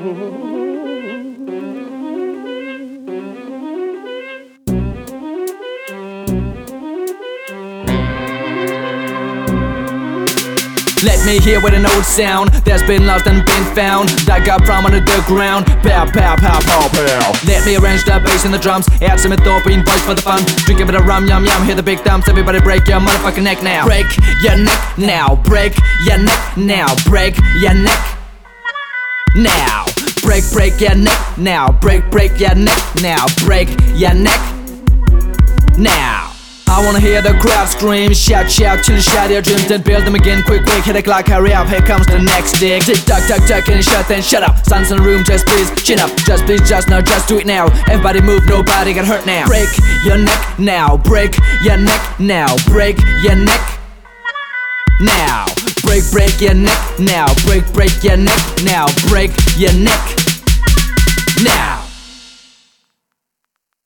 Let me hear with an old sound that's been lost and been found, that got from under the ground. Pow, pow, pow, pow, pow. Let me arrange the bass and the drums, add some Ethiopian voice for the fun. Drink a bit of rum, yum, yum, hear the big thumbs. Everybody break your motherfucking neck now. Break your neck now, break your neck now, break your neck now. Break your neck now, break your neck now, break your neck now. I wanna hear the crowd scream, shout, shout till you shatter your dreams, then build them again, quick, quick, hit the clock, hurry up, here comes the next dig. Tick tock, tock, tock, and shut, then shut up. Sun's in the room, just please, chin up, just please, just now, just do it now. Everybody move, nobody get hurt now. Break your neck now, break your neck now, break your neck now. Break your neck now, break your neck now, break your neck